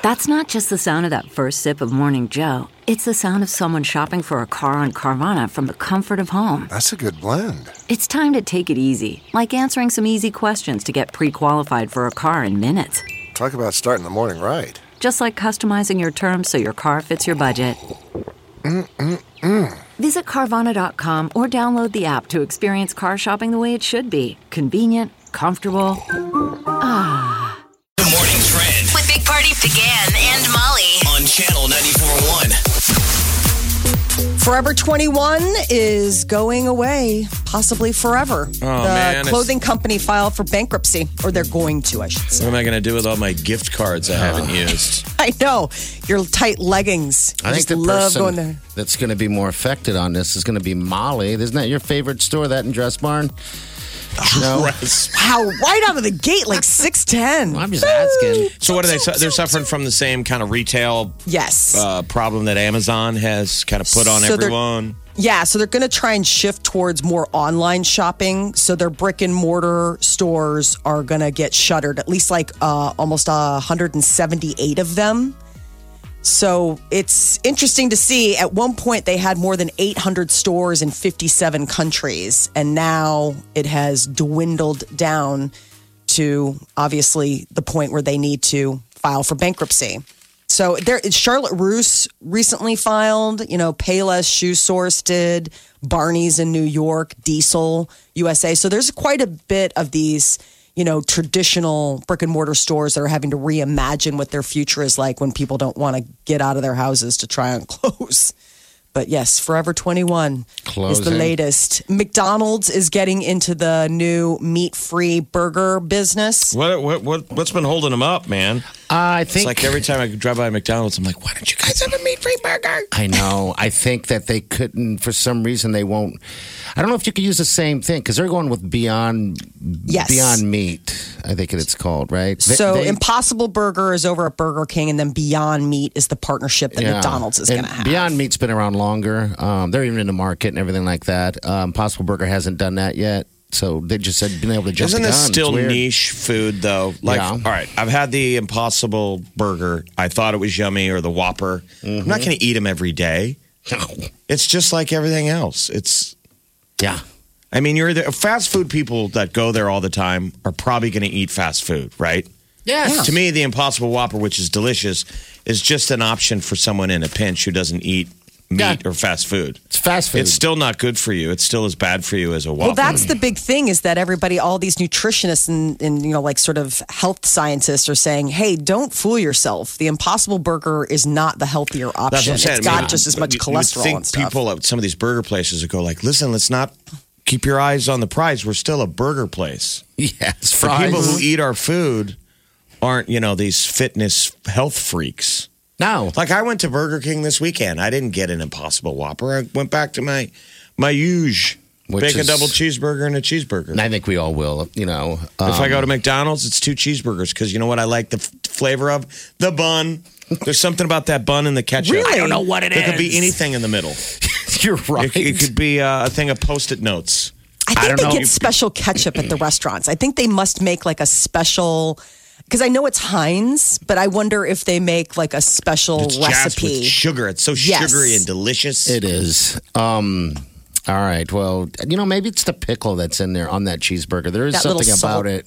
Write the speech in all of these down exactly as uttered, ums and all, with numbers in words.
That's not just the sound of that first sip of Morning Joe. It's the sound of someone shopping for a car on Carvana from the comfort of home. That's a good blend. It's time to take it easy, like answering some easy questions to get pre-qualified for a car in minutes. Talk about starting the morning right. Just like customizing your terms so your car fits your budget. Mm-mm-mm. Visit Carvana dot com or download the app to experience car shopping the way it should be. Convenient, comfortable. Ah. The Morning Trend with Big Party began and Molly on Channel ninety-four point one. Forever twenty-one is going away, possibly forever. Oh, the man, clothing company filed for bankruptcy, or they're going to, I should say. What am I going to do with all my gift cards I haven't used? I know. Your tight leggings. I I think just the love going person there. that's going to be more affected on this is going to be Molly. Isn't that your favorite store, that in Dress Barn? No. Wow, right out of the gate, like six ten. I'm just asking. So what are they? su- They're suffering from the same kind of retail Yes. uh, problem that Amazon has kind of put on So they're- everyone. Yeah, so they're going to try and shift towards more online shopping. So their brick and mortar stores are going to get shuttered, at least like uh, almost uh, one hundred seventy-eight of them. So it's interesting to see. At one point, they had more than eight hundred stores in fifty-seven countries, and now it has dwindled down to obviously the point where they need to file for bankruptcy. So there, Charlotte Russe recently filed. You know, Payless Shoe Source did, Barney's in New York, Diesel U S A. So there's quite a bit of these, you know, traditional brick and mortar stores that are having to reimagine what their future is like when people don't want to get out of their houses to try on clothes. But yes, Forever twenty-one is the Closing. latest. McDonald's is getting into the new meat-free burger business. What what what what's been holding them up, man? I It's think. like every time I drive by McDonald's, I'm like, why don't you guys have a meat-free burger? I know. I think that they couldn't, for some reason, they won't. I don't know if you could use the same thing because they're going with Beyond Yes. Beyond Meat. I think it's called, right? They- So they- Impossible Burger is over at Burger King, and then Beyond Meat is the partnership that Yeah. McDonald's is And going to have. Beyond Meat's been around longer. Um, they're even in the market and everything like that. Um, Possible Burger hasn't done that yet. So they just said been able to jump Isn't the this gun. It's still weird. niche food though? Like, Yeah. all right, I've had the Impossible Burger. I thought it was yummy, or the Whopper. I'm not going to eat them every day. It's just like everything else. It's. Yeah. I mean, you're the fast food people that go there all the time are probably going to eat fast food, right? Yes. To me, the Impossible Whopper, which is delicious, is just an option for someone in a pinch who doesn't eat meat Yeah. or fast food. It's fast food. It's still not good for you. It's still as bad for you as a Whopper. Well, that's the big thing is that everybody, all these nutritionists and, and, you know, like sort of health scientists are saying, hey, don't fool yourself. The Impossible Burger is not the healthier option. That's what I'm saying. It's I got mean, just as much you- you would cholesterol think and stuff. people at some of these burger places would go like, listen, let's not keep your eyes on the prize. We're still a burger place. Yes. For Fries. people who eat our food aren't, you know, these fitness health freaks. No. Like I went to Burger King this weekend. I didn't get an Impossible Whopper. I went back to my my huge Which bacon is- double cheeseburger and a cheeseburger. And I think we all will, you know. Um, If I go to McDonald's, it's two cheeseburgers because you know what I like the f- flavor of? The bun. There's something about that bun and the ketchup. Really? I don't know what it There is. could be anything in the middle. You're right. It, it could be uh, a thing of Post-it notes. I think I don't they know. get special ketchup at the restaurants. I think they must make like a special, because I know it's Heinz, but I wonder if they make like a special It's jazzed recipe. with sugar. It's so Yes. sugary and delicious. It is. Um, all right. Well, you know, maybe it's the pickle that's in there on that cheeseburger. There is That little something salt. about it.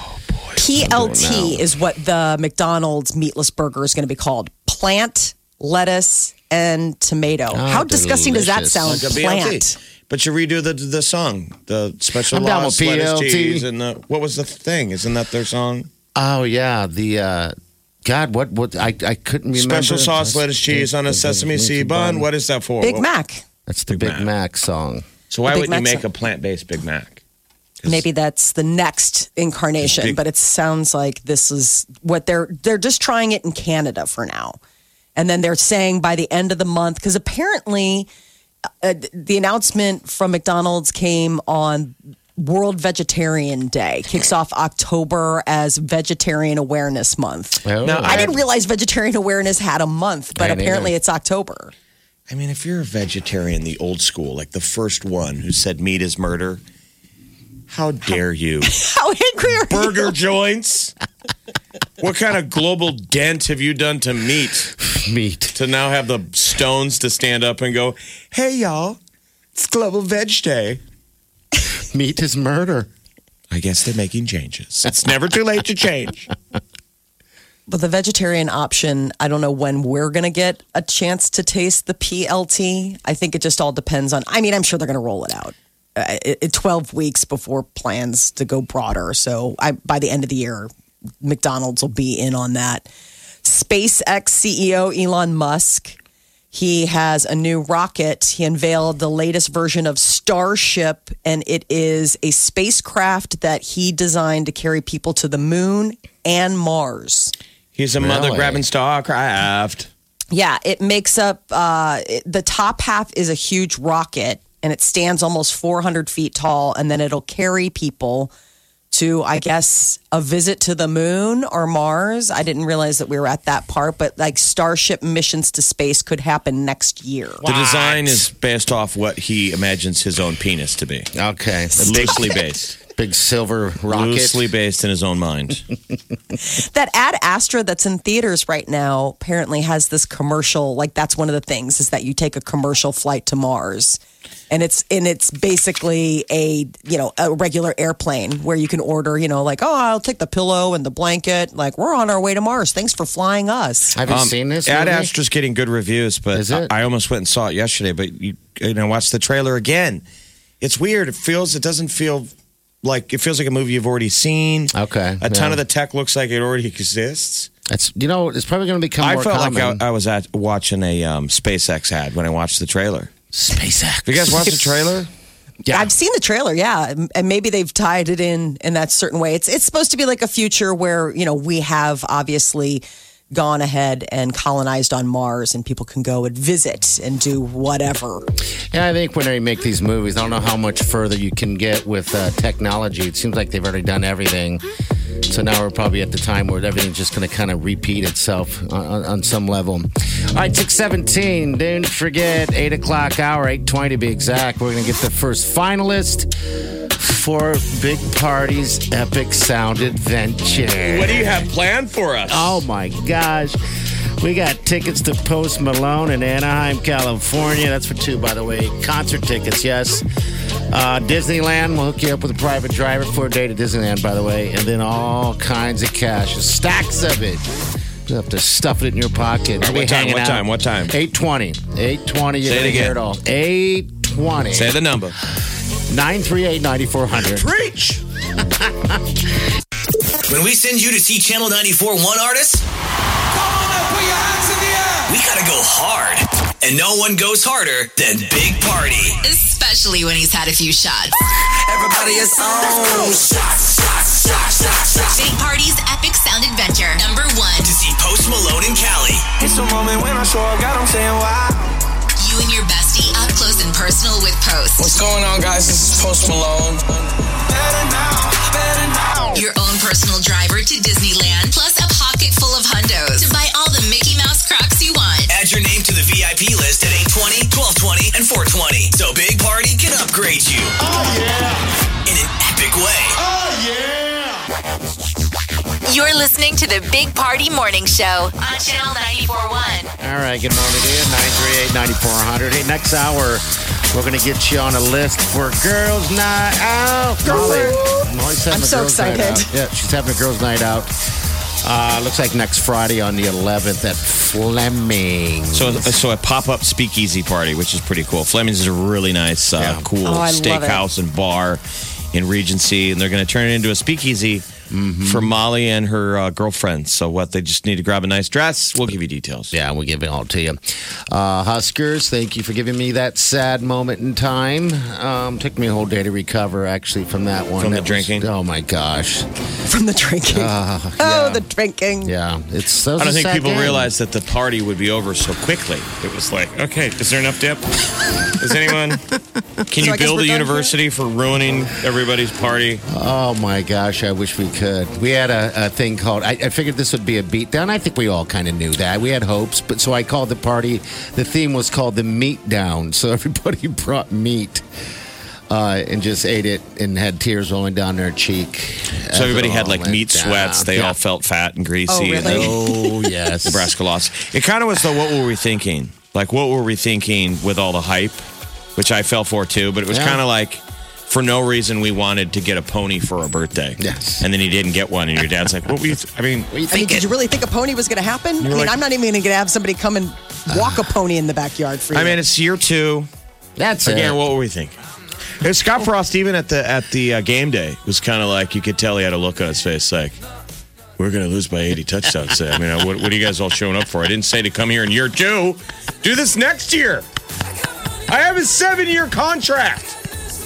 P L T now. is what the McDonald's meatless burger is going to be called. Plant, lettuce, and tomato. Oh, How disgusting does that delicious. sound? Like a B L T. Plant. But you redo the the song, the special I'm down sauce, with P L T. lettuce, cheese, and the, what was the thing? Isn't that their song? Oh yeah, the uh, God, what what I I couldn't remember. Special sauce, lettuce, cheese on a sesame seed bun. What is that for? Big What- Mac. That's the Big Big, Mac. Mac. song. So why Big wouldn't you Mac's make a- a plant-based Big Mac? 'Cause Maybe that's the next incarnation, Big- but it sounds like this is what they're they're just trying it in Canada for now. And then they're saying by the end of the month, because apparently uh, the announcement from McDonald's came on World Vegetarian Day, kicks off October as Vegetarian Awareness Month. Oh. Now, I didn't realize Vegetarian Awareness had a month, but I didn't apparently either. it's October. I mean, if you're a vegetarian, the old school, like the first one who said meat is murder, how dare you? How angry are Burger you? joints. What kind of global dent have you done to meat? Meat. To now have the stones to stand up and go, hey, y'all, it's Global Veg Day. Meat is murder. I guess they're making changes. It's never too late to change. But the vegetarian option, I don't know when we're going to get a chance to taste the P L T. I think it just all depends on, I mean, I'm sure they're going to roll it out. Uh, it, it, twelve weeks before plans to go broader. So I, by the end of the year, McDonald's will be in on that. SpaceX C E O Elon Musk, he has a new rocket. He unveiled the latest version of Starship, and it is a spacecraft that he designed to carry people to the moon and Mars. He's a Really? mother-grabbing starcraft. Yeah, it makes up, uh, it, the top half is a huge rocket, and it stands almost four hundred feet tall, and then it'll carry people to, I guess, a visit to the moon or Mars. I didn't realize that we were at that part, but like Starship missions to space could happen next year. The design is based off what he imagines his own penis to be. Okay. Loosely based. Big silver rocket. Loosely based in his own mind. That Ad Astra that's in theaters right now apparently has this commercial, like that's one of the things is that you take a commercial flight to Mars. And it's and it's basically a, you know, a regular airplane where you can order, you know, like, oh, I'll take the pillow and the blanket. Like, we're on our way to Mars. Thanks for flying us. Have you Um, seen this? Ad movie? Astra's getting good reviews, but Is it? I, I almost went and saw it yesterday. But you, you know, watch the trailer again. It's weird. It feels. It doesn't feel like it feels like a movie you've already seen. Okay, A ton yeah. of the tech looks like it already exists. It's you know it's probably going to become I more felt common. like I, I was at watching a um, SpaceX ad when I watched the trailer. SpaceX. Have you guys watched the trailer? Yeah. I've seen the trailer, yeah, and maybe they've tied it in in that certain way. It's it's supposed to be like a future where, you know, we have obviously gone ahead and colonized on Mars, and people can go and visit and do whatever. Yeah, I think when they make these movies, I don't know how much further you can get with uh, technology. It seems like they've already done everything. So now we're probably at the time where everything's just going to kind of repeat itself on, on, on some level. All right, six seventeen. Don't forget, eight o'clock hour, eight twenty to be exact. We're going to get the first finalist for Big Party's Epic Sound Adventure. What do you have planned for us? Oh, my gosh. We got tickets to Post Malone in Anaheim, California. That's for two, by the way. Concert tickets, yes. Uh, Disneyland, we'll hook you up with a private driver for a day to Disneyland, by the way. And then all kinds of cash, stacks of it. You have to stuff it in your pocket. All right, We'll be what time, hanging what out. time, what time? eight twenty. eight twenty, you're Say it going to hear again. it all. eight twenty. Say the number. nine three eight, nine four zero zero. Preach! When we send you to see Channel ninety-four one artists, we gotta go hard. And no one goes harder than Big Party. Especially when he's had a few shots. Everybody is on. Shots, shots, shots, shots, shots. Big Party's Epic Sound Adventure. Number one. To see Post Malone and Cali. It's a moment when I show up, God, I'm saying wow. You and your bestie up close and personal with Post. What's going on, guys? This is Post Malone. Better now, better now. Your own personal driver to Disneyland, plus a pocket full of hundos to buy all the Mickey Mouse Crocs you want. Add your name to the V I P list at eight twenty, twelve twenty, and four twenty. So Big Party can upgrade you. Oh, yeah. In an epic way. Oh, yeah. You're listening to the Big Party Morning Show on Channel ninety-four point one. All right, good morning to you. nine three eight, nine four zero zero. Hey, next hour, we're going to get you on a list for Girls Night Out. Molly. Molly's having I'm a so girls' night excited. out. Yeah, she's having a Girls Night Out. Uh, looks like next Friday on the eleventh at Fleming. So, so a pop-up speakeasy party, which is pretty cool. Fleming's is a really nice, uh, Yeah. cool Oh, I love it. steakhouse and bar in Regency, and they're going to turn it into a speakeasy for Molly and her uh, girlfriends. So what? They just need to grab a nice dress. We'll give you details. Yeah, we'll give it all to you. Uh, Huskers, thank you for giving me that sad moment in time. Um, took me a whole day to recover, actually, from that one. From the That was- drinking? oh, my gosh. From the drinking. Uh, oh, yeah. the drinking. Yeah, it's. that was I don't a think sad people game. realized that the party would be over so quickly. It was like, okay, is there enough dip? Is anyone? Can So you I guess build we're a done university for ruining everybody's party? Oh my gosh, I wish we could. We had a, a thing called, I, I figured this would be a beatdown. I think we all kind of knew that. We had hopes, but so I called the party, the theme was called the Meat Down. So everybody brought meat. uh, and just ate it and had tears rolling down their cheek. So everybody had like meat down. sweats. They yeah. all felt fat and greasy. Oh, really? And then Oh, yes. Nebraska lost. It kind of was though, what were we thinking? Like, what were we thinking with all the hype? Which I fell for too, but it was Yeah. kind of like, for no reason, we wanted to get a pony for a birthday. Yes. And then he didn't get one, and your dad's like, what were you, th- I mean, What do you I mean, think? did you really think a pony was going to happen? I mean, like- I'm not even going to have somebody come and walk a pony in the backyard for you. I mean, it's year two. That's Again, it. what were we thinking? Hey, Scott Frost, even at the at the uh, game day, was kind of like, you could tell he had a look on his face like, we're going to lose by eighty touchdowns today. I mean, what, what are you guys all showing up for? I didn't say to come here in year two. Do this next year. I have a seven-year contract.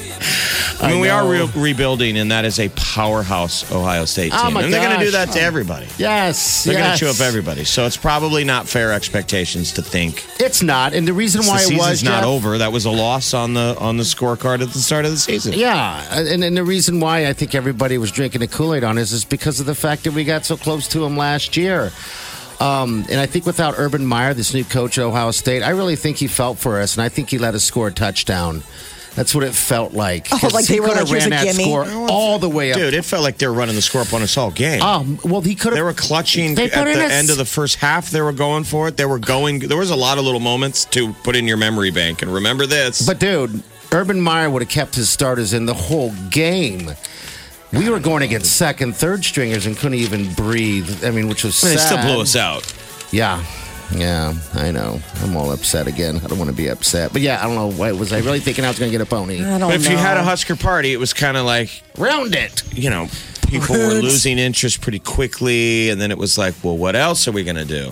I mean, I we are know. re- rebuilding, and that is a powerhouse Ohio State team. Oh, my and they're going to do gosh. that to everybody. Yes. They're going yes. to chew up everybody. So it's probably not fair expectations to think It's not. And the reason the why it season's was not Jeff, over. That was a loss on the on the scorecard at the start of the season. Yeah, and, and the reason why I think everybody was drinking the Kool-Aid on this is because of the fact that we got so close to him last year. Um, and I think without Urban Meyer, this new coach at Ohio State, I really think he felt for us, and I think he let us score a touchdown. That's what it felt like. Oh, 'Cause like he they were coulda like, here's ran a that gimme? score all the way up. Dude, it felt like they were running the score up on us all game. Um, well, he could have. They were clutching They at put in the a- end of the first half. They were going for it. They were going. There was a lot of little moments to put in your memory bank. And remember this. But dude, Urban Meyer would have kept his starters in the whole game. We were going against second, third stringers and couldn't even breathe. I mean, which was they sad. still blew us out. Yeah. Yeah, I know. I'm all upset again. I don't want to be upset. But yeah, I don't know. Why, was I really thinking I was going to get a pony? I don't But if know. you had a Husker party, it was kind of like, Round it. you know, people were losing interest pretty quickly. And then it was like, well, what else are we going to do?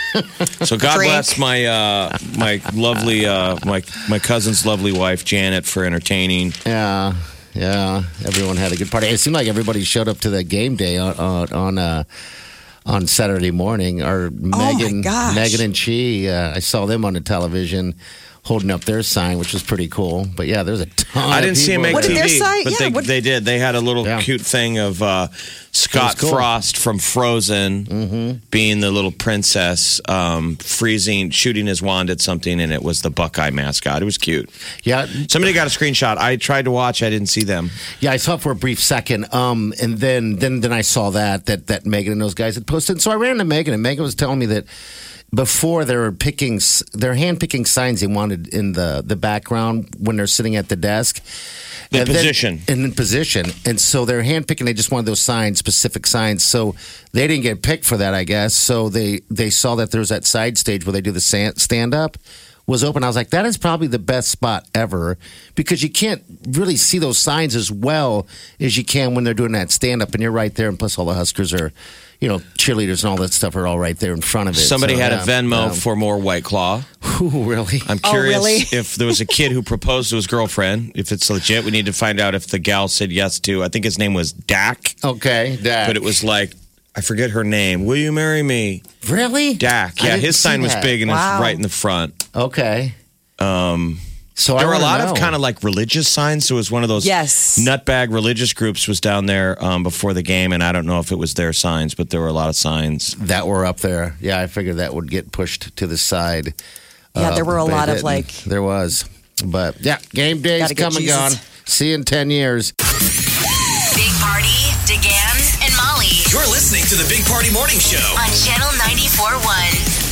So God Drink. bless my uh, my lovely, uh, my, my cousin's lovely wife, Janet, for entertaining. Yeah, yeah. Everyone had a good party. It seemed like everybody showed up to the game day on on on, uh, on Saturday morning. Or Megan, gosh. Megan and Chi. Uh, I saw them on the television holding up their sign, which was pretty cool. But yeah, there's a ton. I of didn't see him people make What did T V, their site- but yeah, they, what- they did. They had a little Yeah. cute thing of uh, Scott cool. Frost from Frozen Mm-hmm. being the little princess, um, freezing, shooting his wand at something, and it was the Buckeye mascot. It was cute. Yeah, Somebody got a screenshot. I tried to watch. I didn't see them. Yeah, I saw it for a brief second, um, and then then then I saw that that that Megan and those guys had posted. So I ran to Megan, and Megan was telling me that before they were picking, s- they're hand picking signs they wanted in the the background when they're sitting at the desk. The And then- position. and in position, and so they're hand picking. They just wanted those signs, specific signs. So they didn't get picked for that, I guess. So they they saw that there was that side stage where they do the stand up. Was open. I was like, that is probably the best spot ever because you can't really see those signs as well as you can when they're doing that stand up, and you're right there. And plus, all the Huskers are, you know, cheerleaders and all that stuff are all right there in front of it. Somebody So, had yeah, a Venmo um, for more White Claw. Ooh, really? I'm Oh, curious really? if there was a kid who proposed to his girlfriend. If it's legit, we need to find out if the gal said yes to. I think his name was Dak, Okay, Dak. but it was like, I forget her name. Will you marry me? really Dak. I Yeah, didn't his see sign was that. big and Wow. it's right in the front. Okay. Um. So I There were a wanna lot of know. kind of like religious signs. So it was one of those Yes. nutbag religious groups was down there um, before the game, and I don't know if it was their signs, but there were a lot of signs. that were up there. Yeah, I figured that would get pushed to the side. Yeah, there were a but it lot of, didn't. like- There was. But yeah, game day's Gotta get come and Jesus. gone. See you in ten years. Big Party, DeGan, and Molly You're listening to the Big Party Morning Show. on Channel ninety-four point one.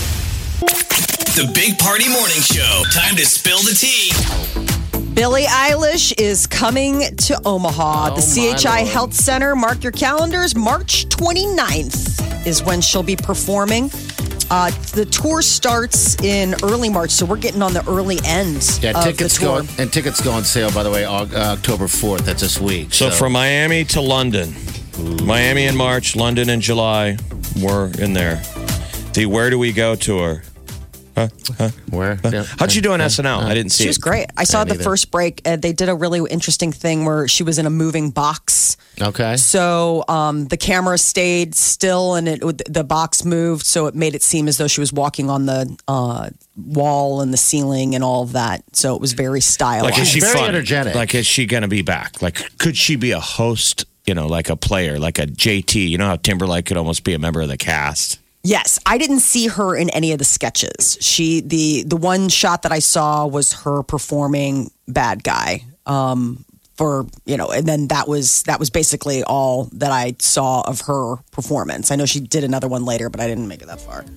The Big Party Morning Show. Time to spill the tea. Billie Eilish is coming to Omaha. Oh, the C H I my Lord. Health Center. Mark your calendars. March twenty-ninth is when she'll be performing. Uh, the tour starts in early March, so we're getting on the early end Yeah, of tickets the tour. go and tickets go on sale. By the way, Au- uh, October fourth. That's this week. So, from Miami to London, Miami in March, London in July, we're in there. The Where Do We Go tour. Huh? Huh? where? Yeah. How'd you do on S N L? I didn't see She was it. great. I saw Yeah, the neither. first break. Uh, they did a really interesting thing where she was in a moving box. Okay. So um, the camera stayed still and it the box moved, so it made it seem as though she was walking on the uh, wall and the ceiling and all of that. So it was very stylized. Like, is she Very fun? energetic. Like, is she going to be back? Like, could she be a host, you know, like a player, like a J T? You know how Timberlake could almost be a member of the cast? Yes, I didn't see her in any of the sketches. She the the one shot that I saw was her performing Bad Guy. Um, for you know, and then that was that was basically all that I saw of her performance. I know she did another one later, but I didn't make it that far.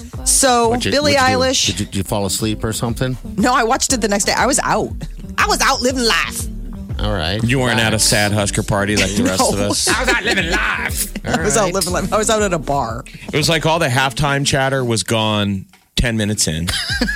So What'd you- Billie what'd you do? Eilish. Did you, did you fall asleep or something? No, I watched it the next day. I was out. I was out living life. All right. You weren't at a sad Husker party like the rest of No. us. I was out living life. I was out living life. I was out at a bar. It was like all the halftime chatter was gone ten minutes in.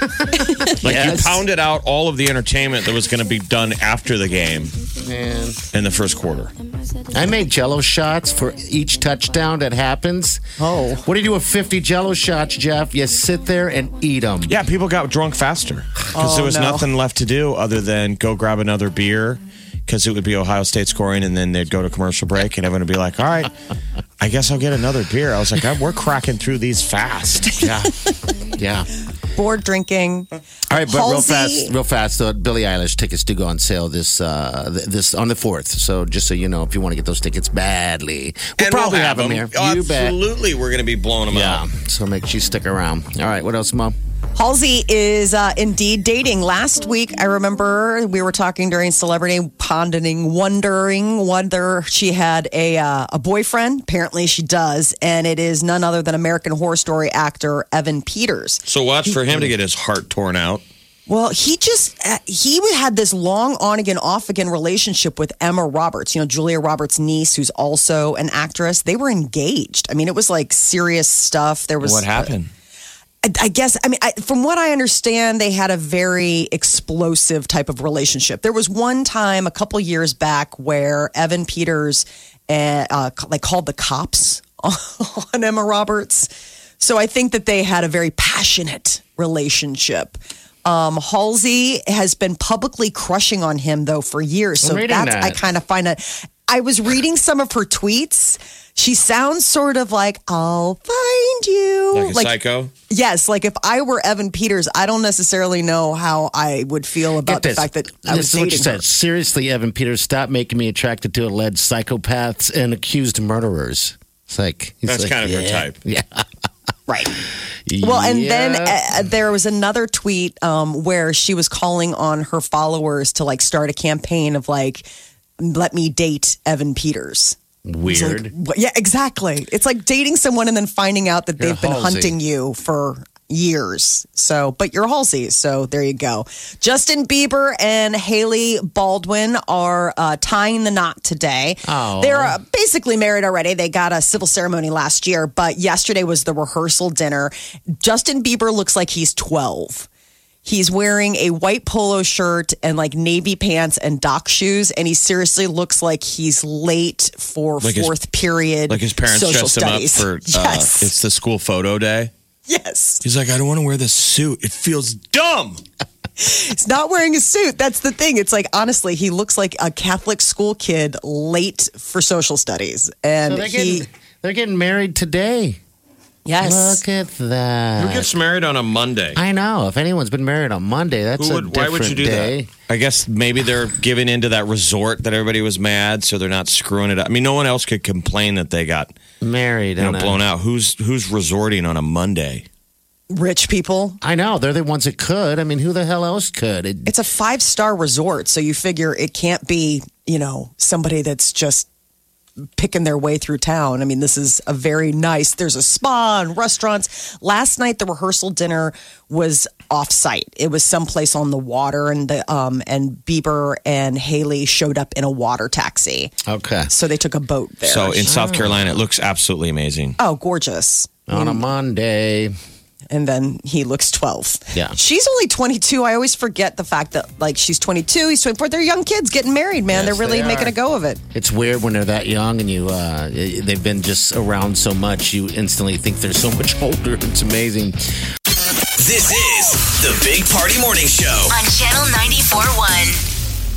Like Yes. you pounded out all of the entertainment that was going to be done after the game Man. in the first quarter. I make Jello shots for each touchdown that happens. Oh. What do you do with fifty Jello shots, Jeff? You sit there and eat them. Yeah, people got drunk faster because Oh, there was no. nothing left to do other than go grab another beer because it would be Ohio State scoring and then they'd go to commercial break and everyone would be like, all right, I guess I'll get another beer. I was like, we're cracking through these fast. Yeah. Yeah. Bored drinking. All right, but real Halsey- fast, real fast. So Billie Eilish tickets do go on sale this uh, th- this on the fourth. So just so you know, if you want to get those tickets badly, we'll And probably we'll have them here. Oh, You bet. absolutely, we're going to be blowing them Yeah. out. So make sure you stick around. All right. What else, Mom? Halsey is uh, indeed dating. Last week, I remember we were talking during Celebrity Pondering, wondering whether she had a uh, a boyfriend. Apparently, she does, and it is none other than American Horror Story actor Evan Peters. So watch for him to get his heart torn out. Well, he just uh, he had this long on again, off again relationship with Emma Roberts. You know, Julia Roberts' niece, who's also an actress. They were engaged. I mean, it was like serious stuff. There was What happened? I guess, I mean, I, from what I understand, they had a very explosive type of relationship. There was one time a couple years back where Evan Peters uh, uh, like called the cops on Emma Roberts. So I think that they had a very passionate relationship. Um, Halsey has been publicly crushing on him though for years. So I'm reading that's that. I kind of find that. I was reading some of her tweets. She sounds sort of like, I'll find you. Like a psycho? Yes, like if I were Evan Peters, I don't necessarily know how I would feel about Get the this. fact that I was this is what you dating said. her. Seriously, Evan Peters, stop making me attracted to alleged psychopaths and accused murderers. It's like he's That's like, kind of her yeah, type. Yeah. Right. Well, and then Yeah. uh, there was another tweet um, where she was calling on her followers to like start a campaign of like, let me date Evan Peters. It's Weird. like, what- yeah, exactly. It's like dating someone and then finding out that You're they've been Halsey. hunting you for years. So, but you're Halsey. So there you go. Justin Bieber and Haley Baldwin are uh, tying the knot today. Oh. They're uh, basically married already. They got a civil ceremony last year, but yesterday was the rehearsal dinner. Justin Bieber looks like he's twelve. He's wearing a white polo shirt and like navy pants and dock shoes, and he seriously looks like he's late for Like his- fourth period. Like his parents social dressed studies. him up for, uh, yes, it's the school photo day. yes. He's like, I don't want to wear this suit. It feels dumb. He's not wearing a suit. That's the thing. It's like honestly, he looks like a Catholic school kid late for social studies, and So they're he getting, they're getting married today. yes. Look at that. Who gets married on a Monday? I know. If anyone's been married on Monday, that's Who a would, why different would you do day. that? I guess maybe they're giving into that resort that everybody was mad, so they're not screwing it up. I mean, no one else could complain that they got Married. you know, on a- blown out. Who's who's resorting on a Monday? Rich people. I know. They're the ones that could. I mean, who the hell else could? It, It's a five star resort, so you figure it can't be, you know, somebody that's just picking their way through town. I mean, this is a very nice. There's a spa and restaurants. Last night, the rehearsal dinner was off site. It was someplace on the water, and the um and Bieber and Haley showed up in a water taxi. okay. So they took a boat there. So in South Carolina, it looks absolutely amazing. oh, gorgeous. On a Monday. And then he looks twelve. Yeah. She's only twenty-two. I always forget the fact that, like, she's twenty-two, he's twenty-four. They're young kids getting married, man. Yes, They're really they making are. a go of it. It's weird when they're that young and you uh, they've been just around so much, you instantly think they're so much older. It's amazing. This is the Big Party Morning Show. On Channel ninety-four point one.